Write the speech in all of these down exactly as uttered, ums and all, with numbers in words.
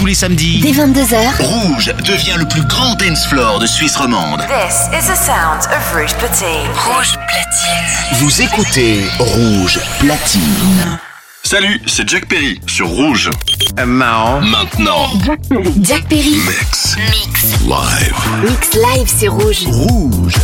tous les samedis. Dès vingt-deux heures. Rouge devient le plus grand dance floor de Suisse romande. This is the sound of Rouge Platine. Rouge Platine. Vous écoutez Rouge Platine. Salut, c'est Jack Perry sur Rouge. Marrant. Maintenant. Jack Perry. Jack Perry. Mix. Mix. Live. Mix live, c'est Rouge. Rouge.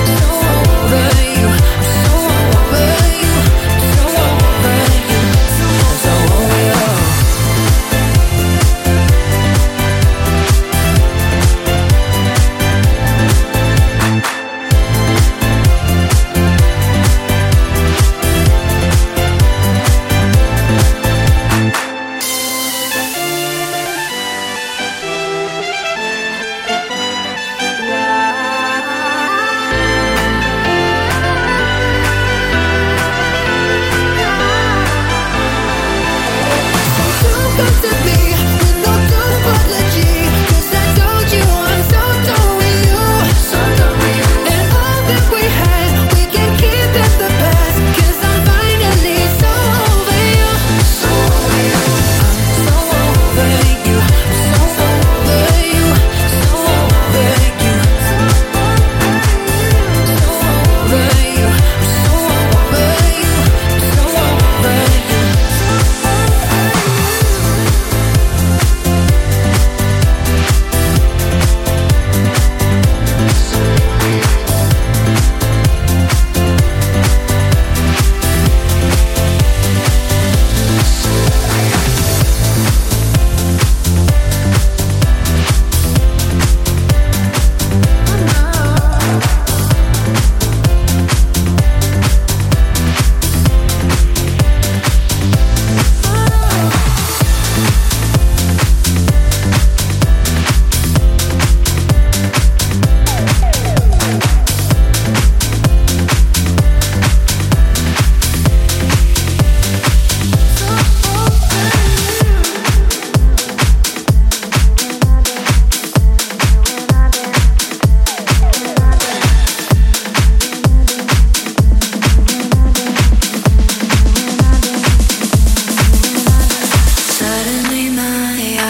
So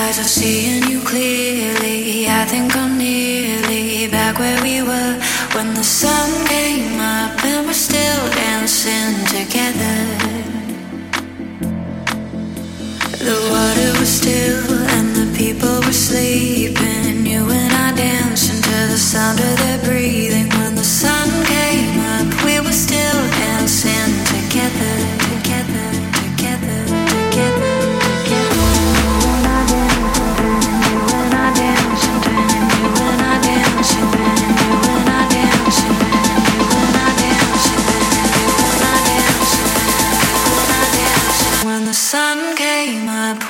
eyes are seeing you clearly. I think I'm nearly back where we were when the sun came up and we're still dancing together. The water was still and the people were sleeping. You and I dancing to the sound of their breathing. When the sun came up, we were still dancing together, together, together, together. When the sun came up.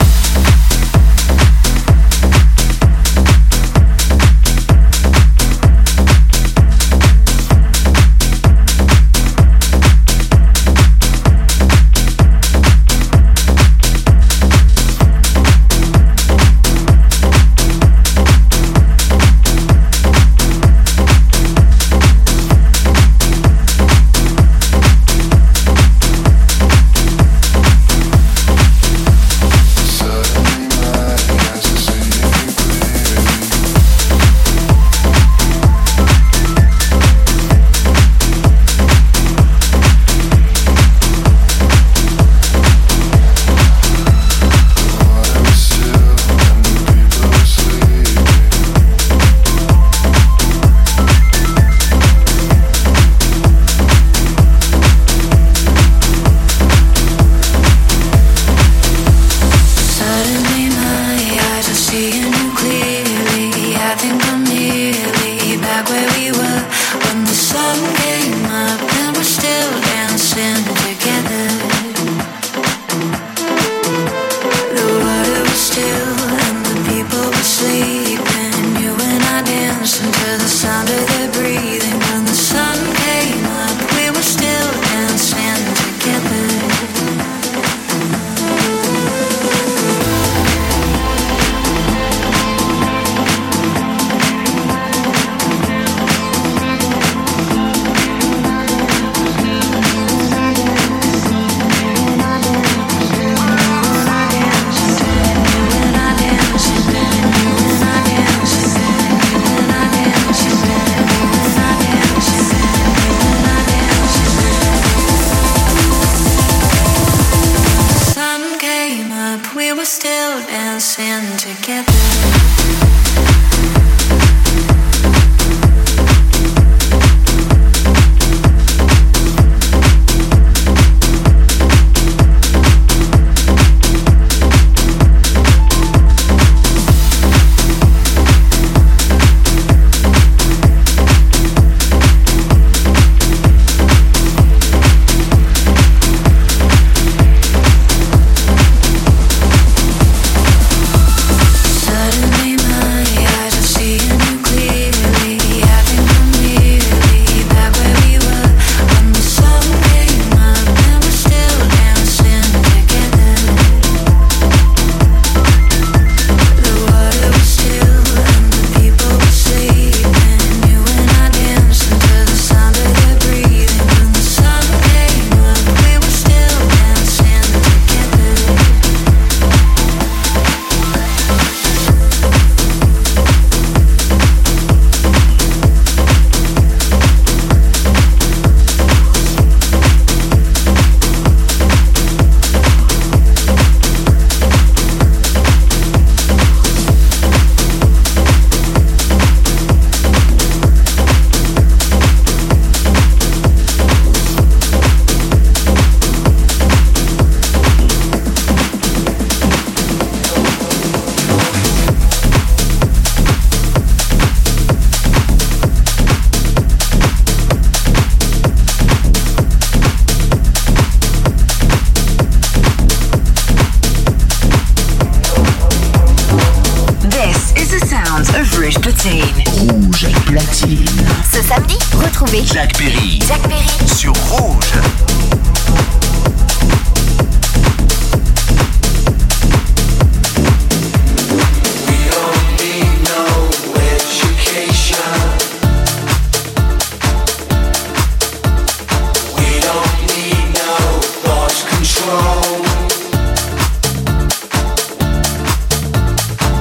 Rouge Platine. Ce samedi, retrouvez Jack Perry. Jack Perry sur Rouge. Control.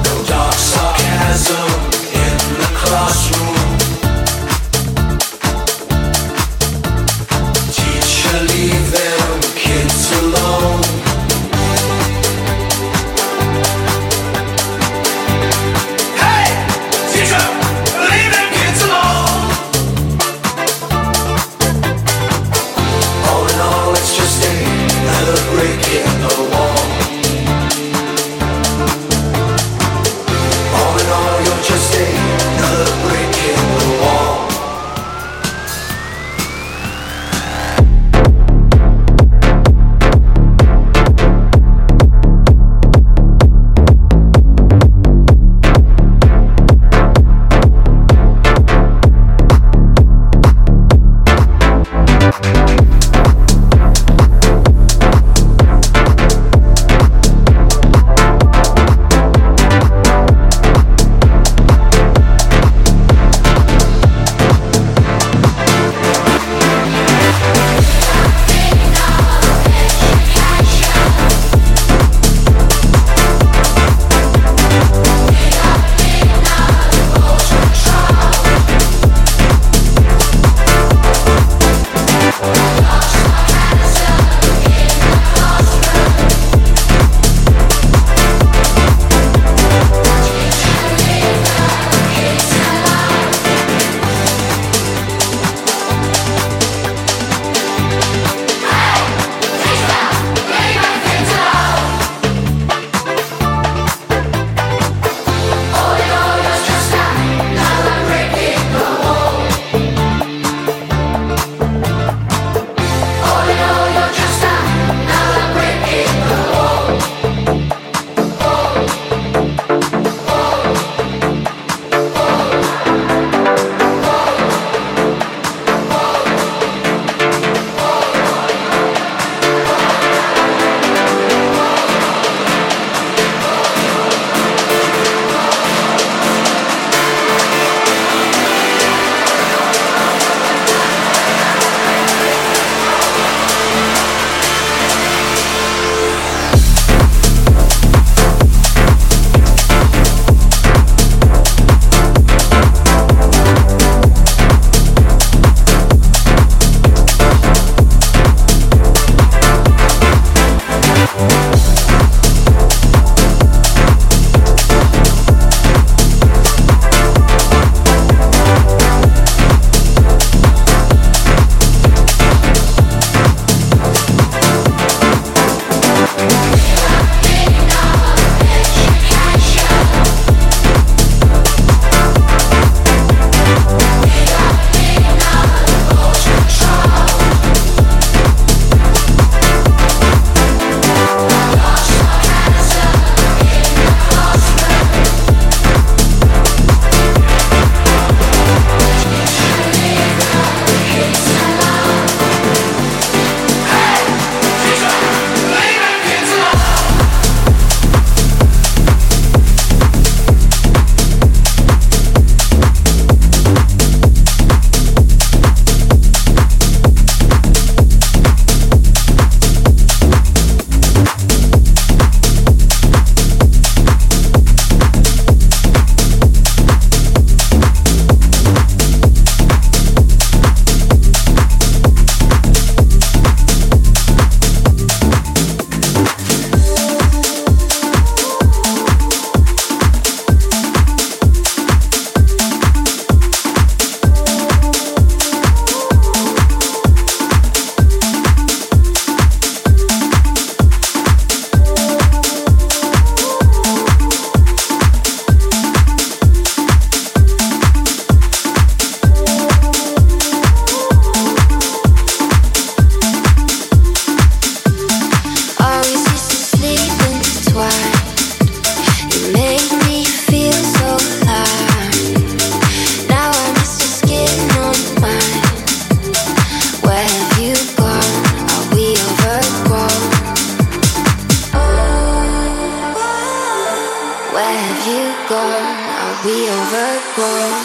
Where have you gone? Are we overgrown?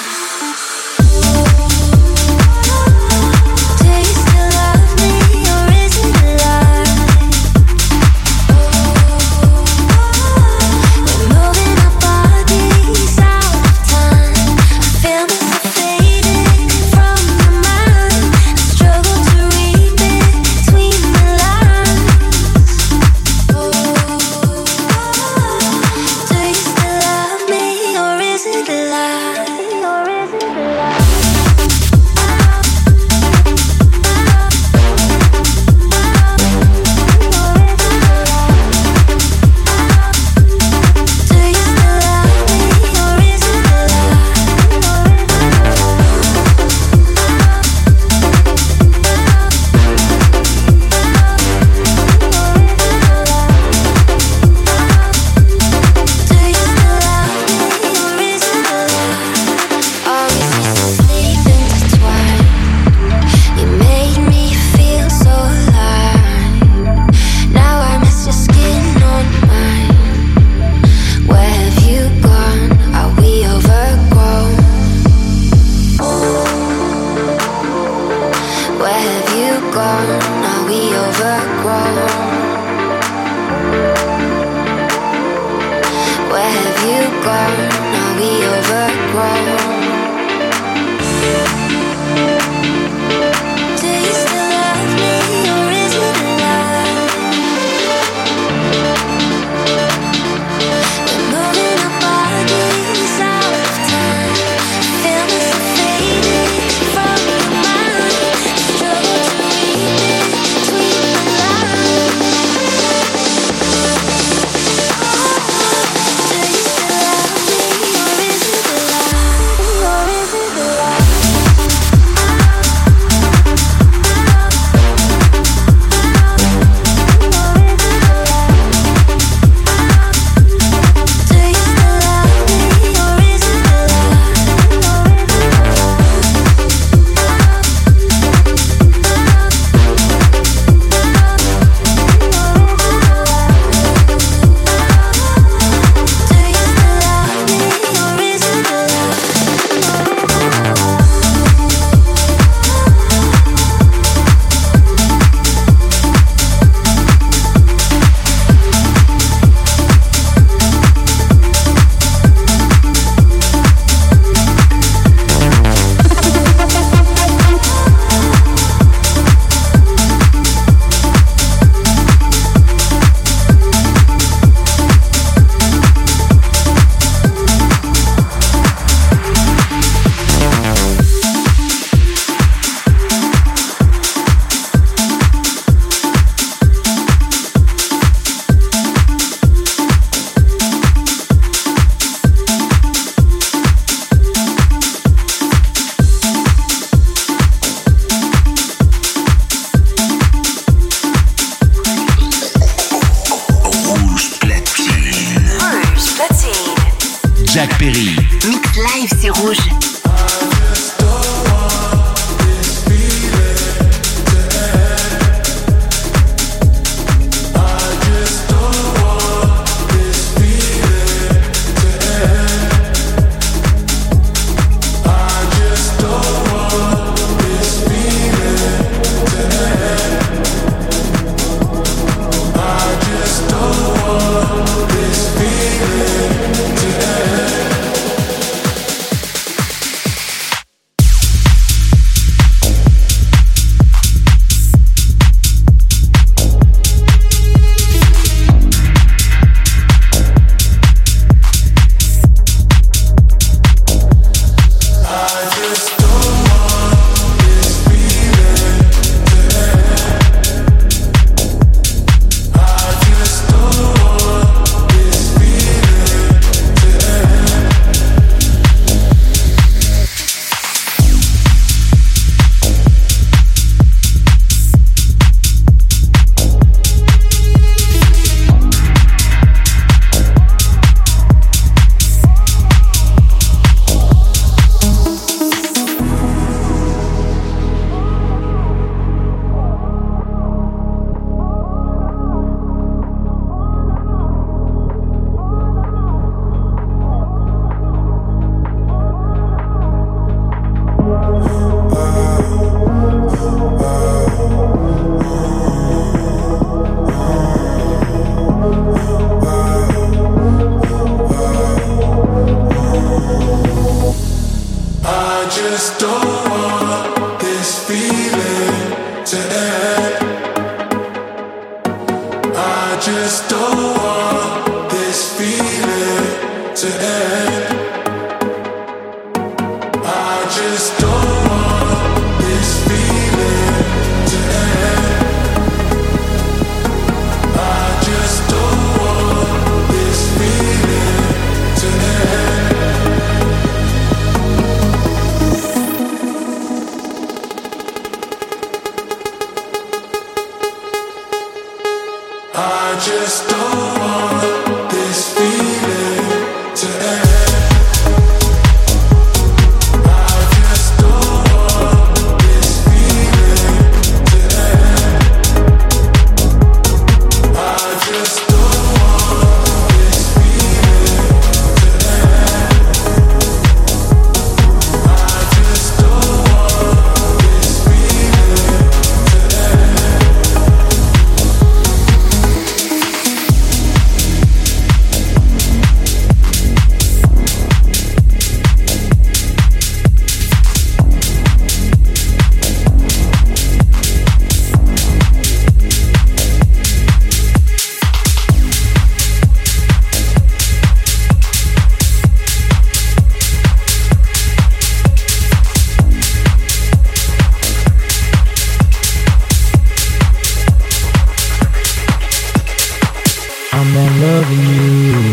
Jack Perry. Mix live, c'est Rouge.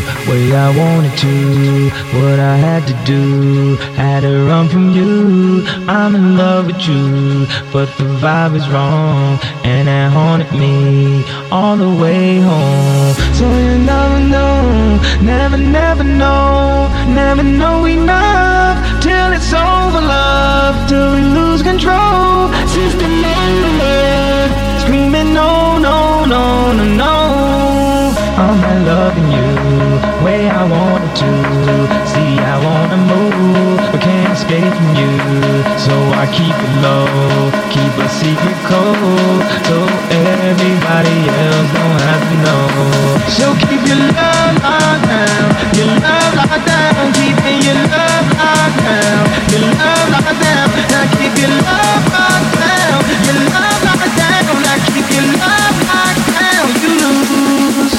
way I wanted to. What I had to do, had to run from you. I'm in love with you, but the vibe is wrong, and it haunted me all the way home. So you never know, never, never know, never know enough till it's over, love, till we lose control. Systematic, screaming no, no, no, no, no. I'm not loving you way I wanted to. See, I wanna move, but can't escape from you. So I keep it low, keep a secret code, so everybody else don't have to know. So keep your love locked down, your love locked down, keeping your love locked down, your love locked down. Now keep your love locked down, your love locked down. Now keep your love locked down, you lose.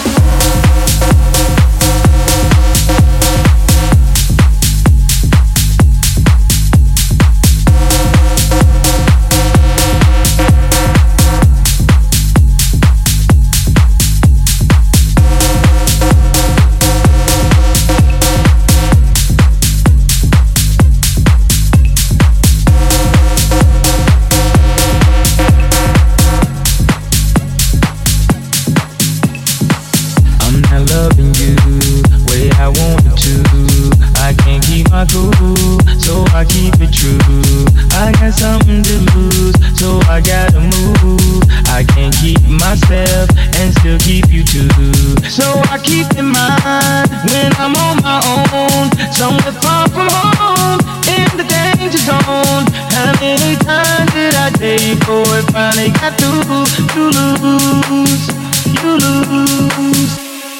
So I keep it true. I got something to lose, so I gotta move. I can't keep myself and still keep you too. So I keep in mind when I'm on my own, somewhere far from home, in the danger zone. How many times did I day before it finally got through? You lose, you lose.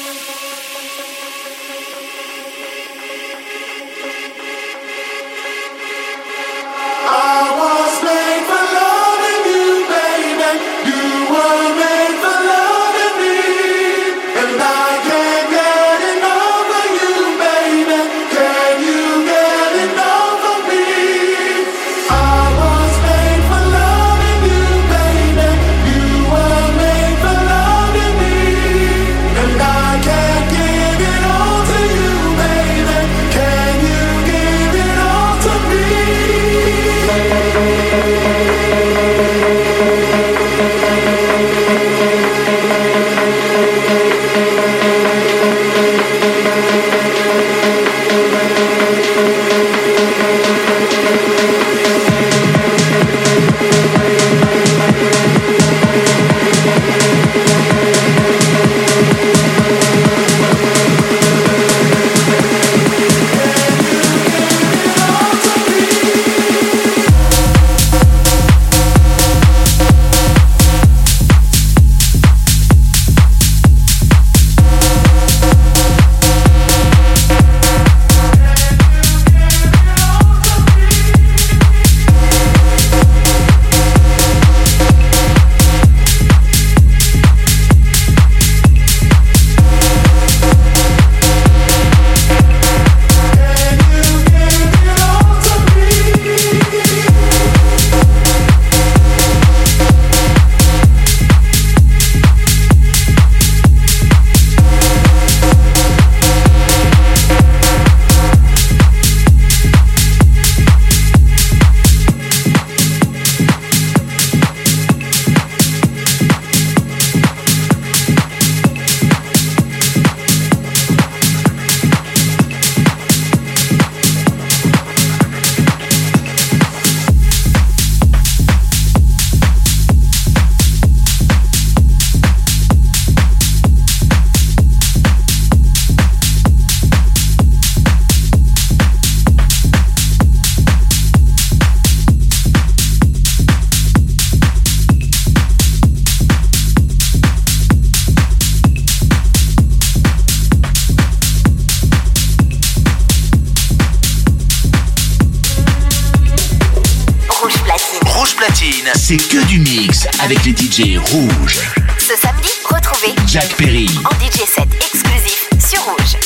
C'est que du mix avec les D J rouges. Ce samedi, retrouvez Jack Perry en D J set exclusif sur Rouge.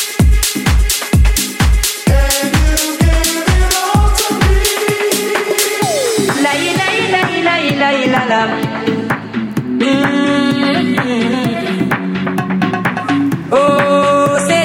La la la la la la la. Oh, c'était toi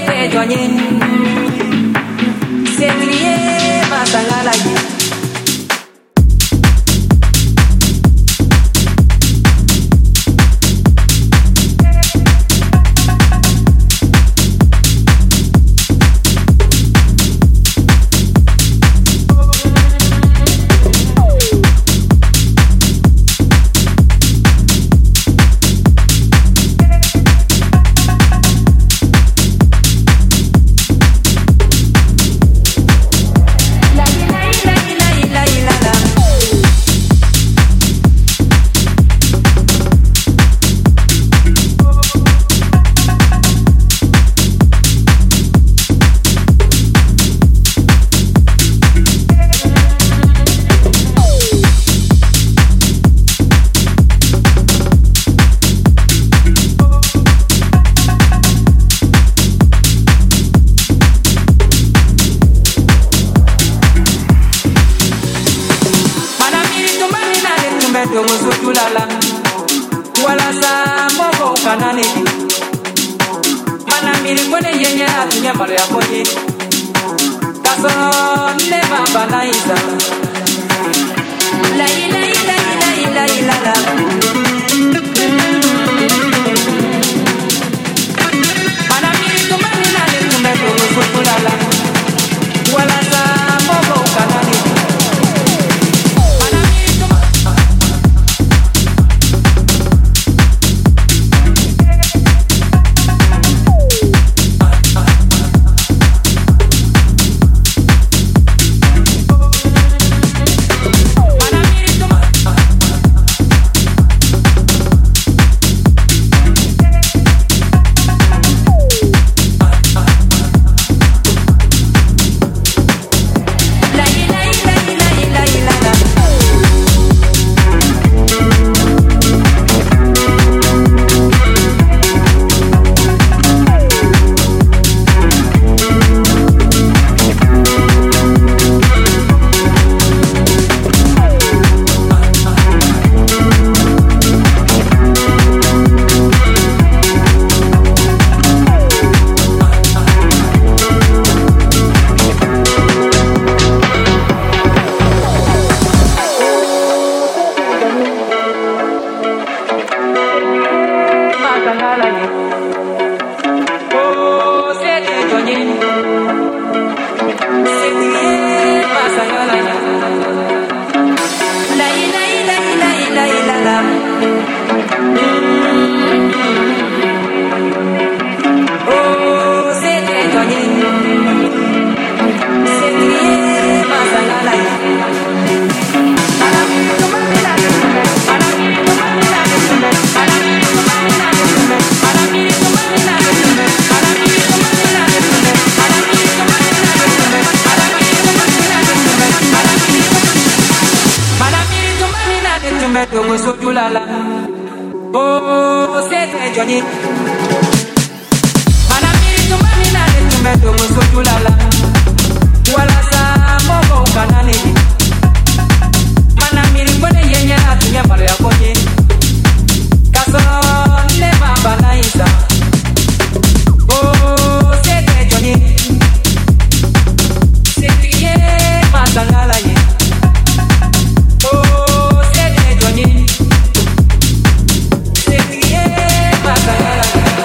Masangala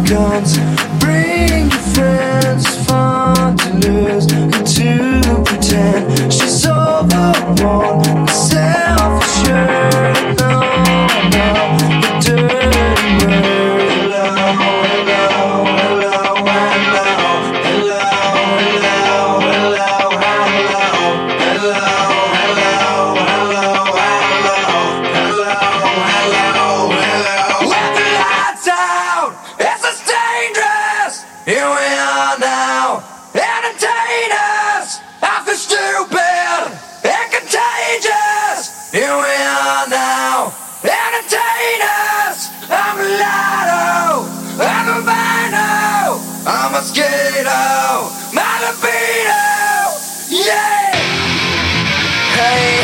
guns. Bring your friends, fun to lose and to pretend. She's overworn, self-assured. No, no, the dirty word. Hello, hello, hello, hello, hello, hello, hello, hello, hello, hello, hello, hello, hello. Let the lights out. It's a dangerous. Here we are now. Entertain us. I feel stupid and contagious. Here we are now. Entertain us. I'm a lotto. I'm a vino. I'm a mosquito. My libido. Yeah. Hey.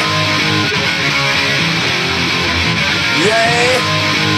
Yeah.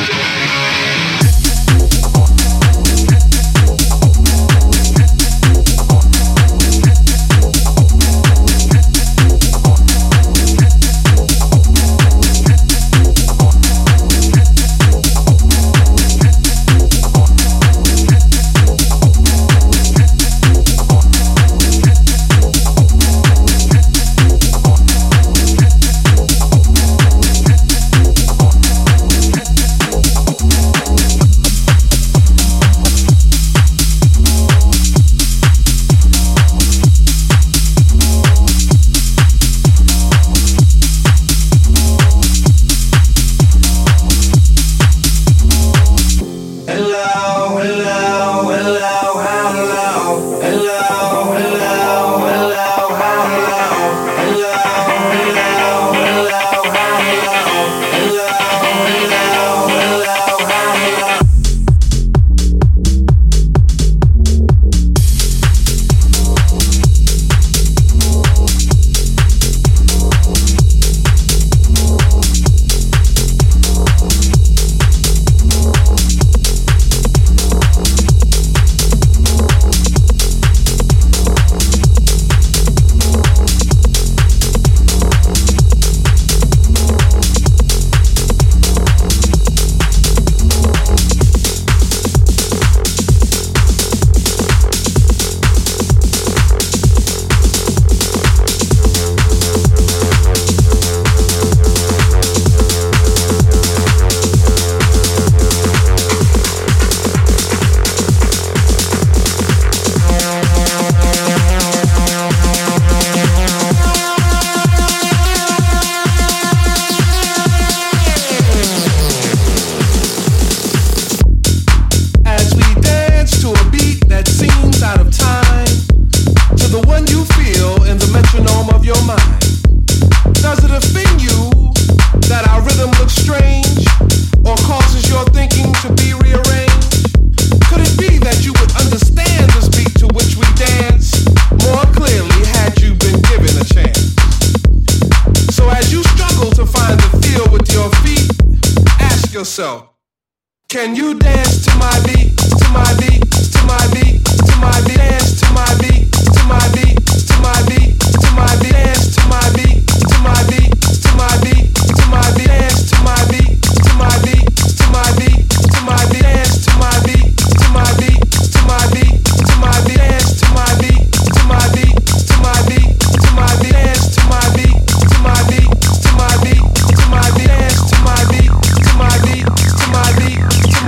Can you dance to my beat, to my beat, to my beat, to my beat, dance to my beat, to my beat, to my beat, to my beat, dance to my beat, to my beat, to my beat, to my beat, dance to my beat, to my beat, to my beat, to my beat, dance to my beat, to my beat, to my beat, to my beat, dance to my beat, to my beat, to my beat, to my beat, dance to my beat, to my beat, to my beat, to my beat, dance to my beat, to my beat, to my beat.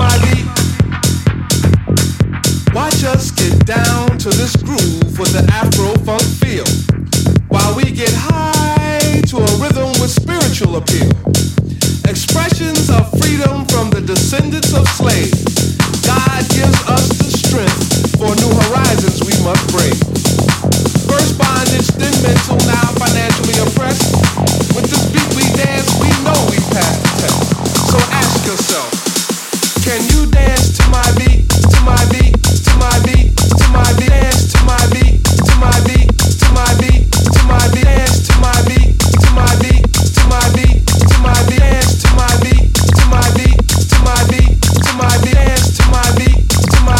Watch us get down to this groove with the Afro-funk feel, while we get high to a rhythm with spiritual appeal. Expressions of freedom from the descendants of slaves. God gives us the strength for new horizons we must brave. First bondage, then mental, now financially oppressed. With this beat we dance, we know we pass the test. So ask yourself, can you dance to my beat, to my beat, to my beat, to my beat, dance to my beat, to my beat, to my beat, to my beat, dance to my beat, to my beat, to my beat, to my beat, dance to my beat, to my beat, to my beat, to my beat, dance to my beat, to my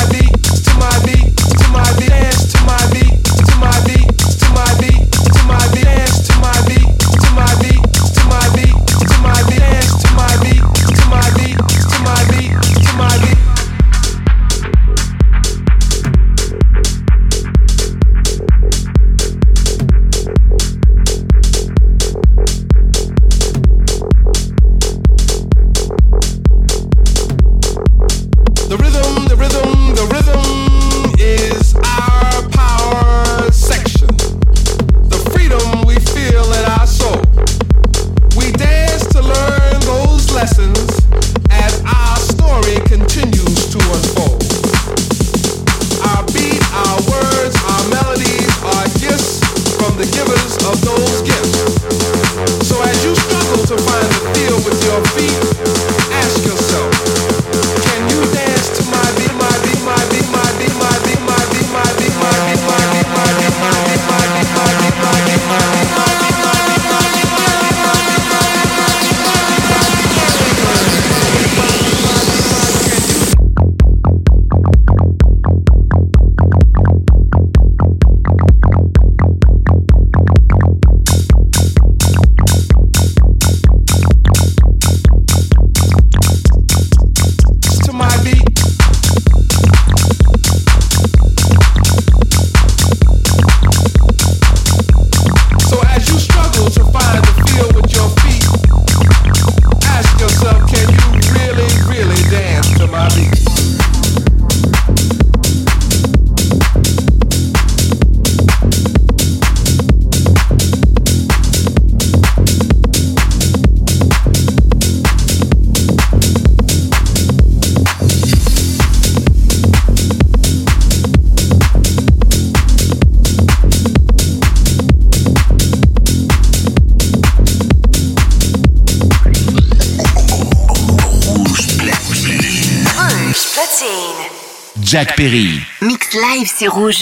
Jack Perry. Mix live sur Rouge.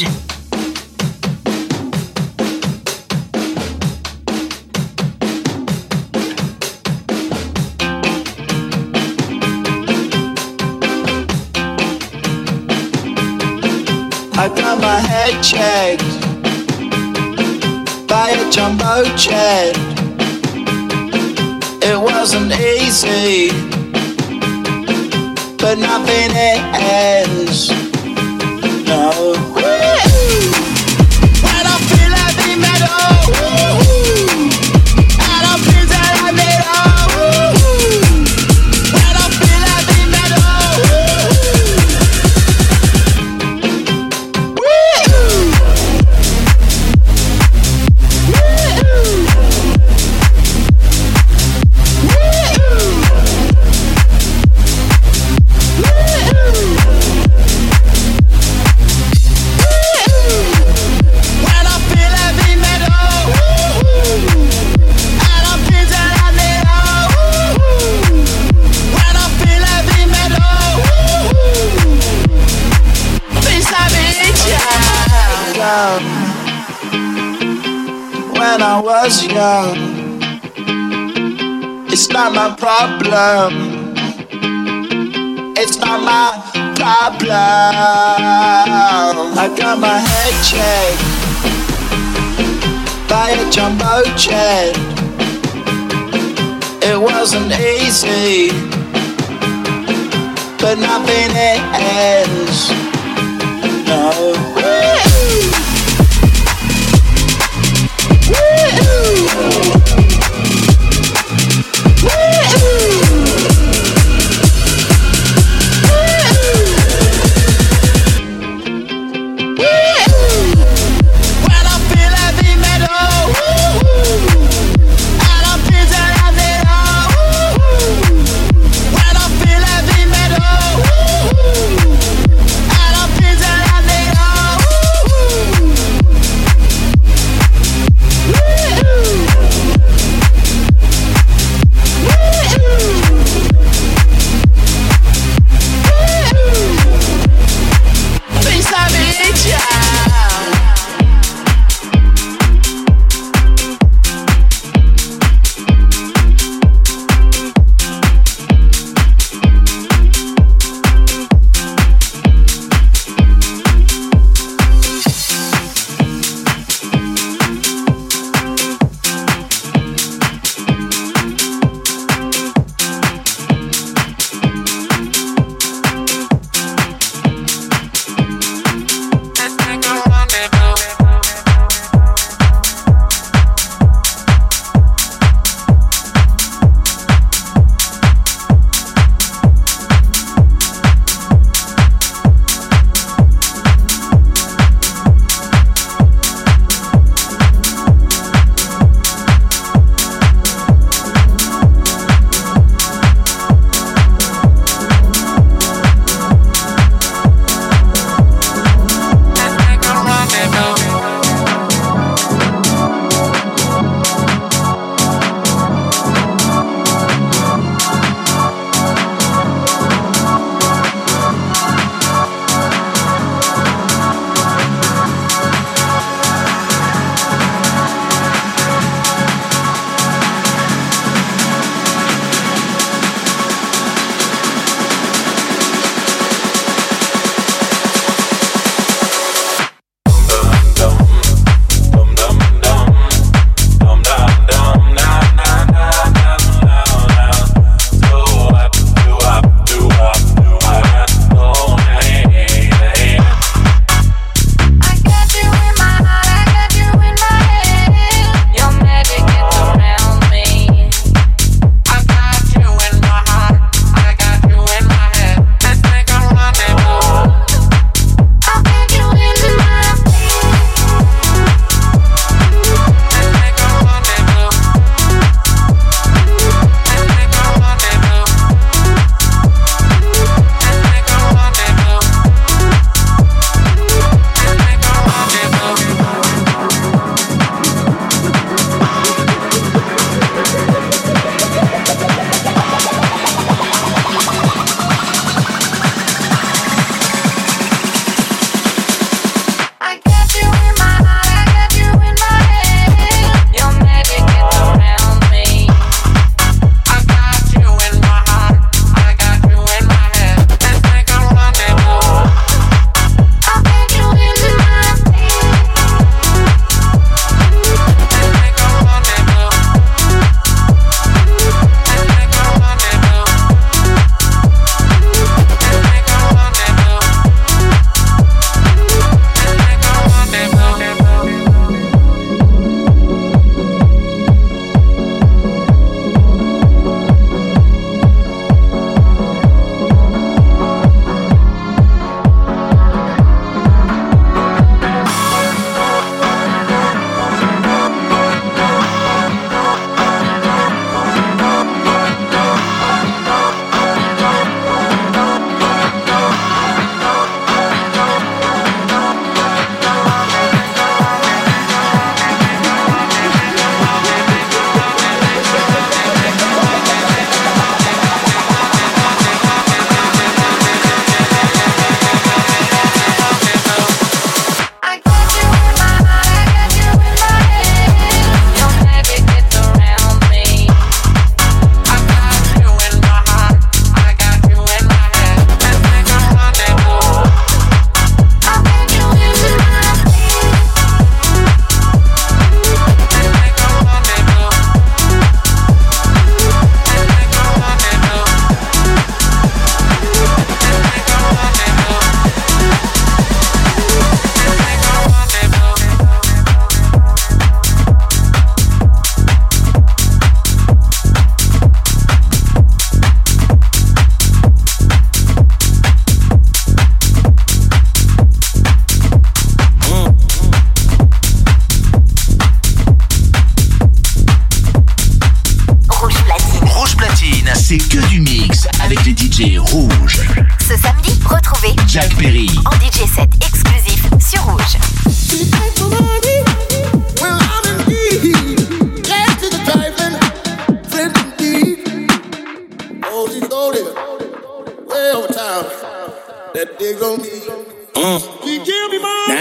I got my head checked by a jumbo jet. It wasn't easy, but nothing ends. No. Woo-hoo. When I feel heavy metal, woo-hoo. And I feel that I made all. Woo-hoo. When I feel heavy metal, woo-hoo. Woo-hoo. When I was young, it's not my problem. It's not my problem. I got my head checked by a jumbo jet. It wasn't easy, but nothing ends. No.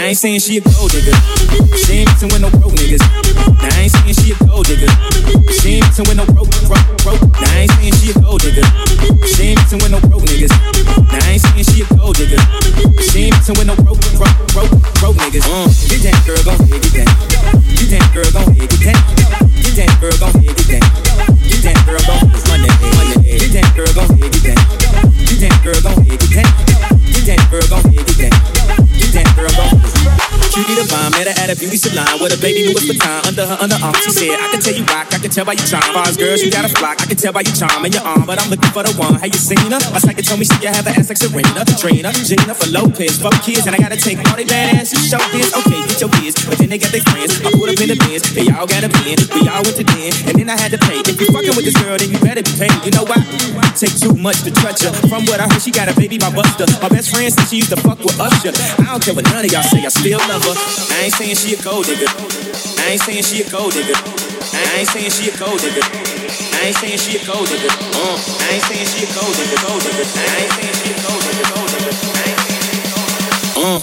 I ain't saying she a gold digger. She ain't messing with no broke niggas. Now I ain't saying she a gold digger. She ain't messing with no broke, broke, broke. Now I ain't saying she a gold digger. She ain't messing with no broke niggas. Now I ain't saying she a gold digger. She ain't messing with no broke, broke, broke, broke niggas. Uh, get that girl, gon' head, get that. Get that girl, gon' head, get that. Get that girl, gon' head, get that. Get that girl, gon' head, run that head, run that head. Get that girl, gon' head, get that. Get that girl, gon' head, get that. Get that girl, gon' head, get that. Get that girl, gon' head. Cutie divine, met her at a beauty salon with a baby Louis Vuitton under her underarm. She said, I can tell you rock, I can tell by your charm. Bars girls, you got a flock, I can tell by your charm and your arm, but I'm looking for the one. Have you seen her? My psychic told me she can have an ass like Serena, Trina, Gina, for Lopez, four kids, and I gotta take all they badass and show this. Okay, get your kids, but then they got their friends. I put up in the bins, they all got a pen. We all went to den, and then I had to pay. If you fucking with this girl, then you better be paid. You know why? Take too much to touch her. From what I heard, she got a baby by Buster. My best friend said she used to fuck with Usher. I don't care what none of y'all say, I still love her. I ain't saying she a gold digger. I ain't saying she a gold digger. I ain't saying she a gold digger. I ain't saying she a gold digger. Uh, I ain't saying she a gold digger, gold digger. I ain't saying she a gold digger, gold digger. I ain't saying she a gold digger. Uh,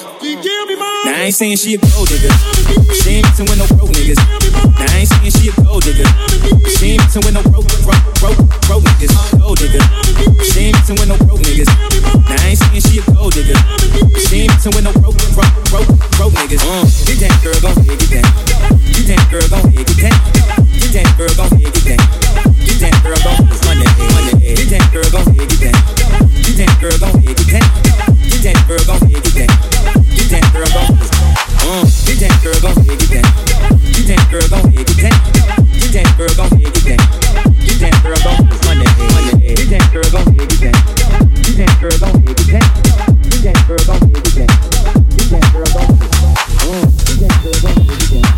now I ain't saying she a gold digger. She ain't messing with no broke niggas. Now I ain't saying she a gold digger. She ain't messing with no broke, broke, broke, broke niggas. Gold digger. She ain't messing with no broke niggas. Now I ain't saying she a gold digger. She ain't messing with no broke, broke, broke, broke niggas. Uh, get that girl, gon' head, get that. Get that girl, gon' head, get that. Get that girl, gon' head, get that. Get that girl, gon' head, run that head, run that head. Get that girl, gon' head, get that. Get that girl, gon' head, get that. Get that girl, gon' head, get that. Get that girl, gon' head. Uh, get that girl, gon' head, get that. Get that girl, gon' head, get that. Get that girl, gon' head, get that. Get that girl, gon' head, run that head, run that head. Get that girl, gon' head, get that. Get that girl, gon' head, get that. Get that girl, gon' head, get that. Get that girl, gon' head. Uh, get that girl, gon' head, get that. Get that girl, gon' head, get that.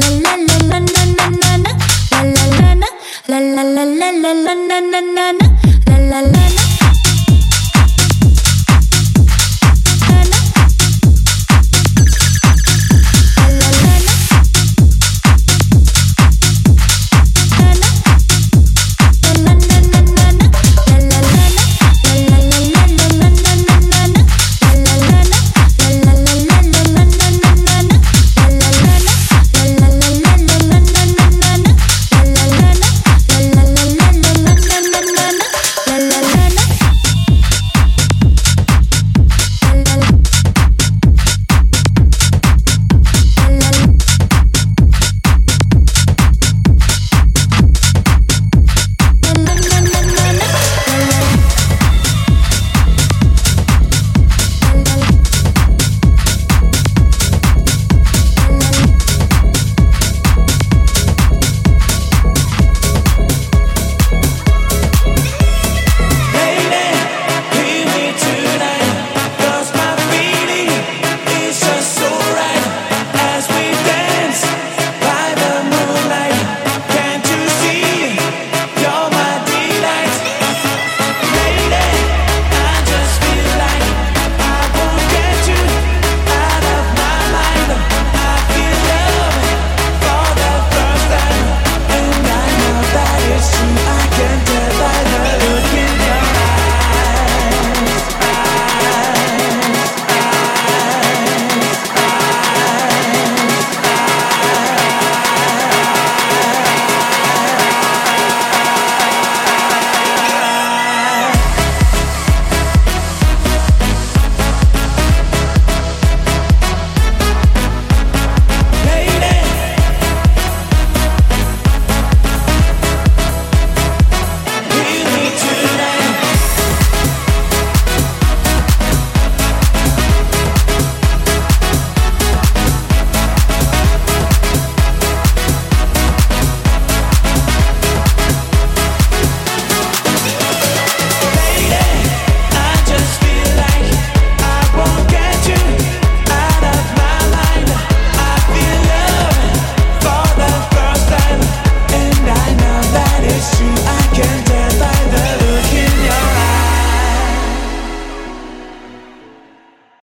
na na na na na la la la.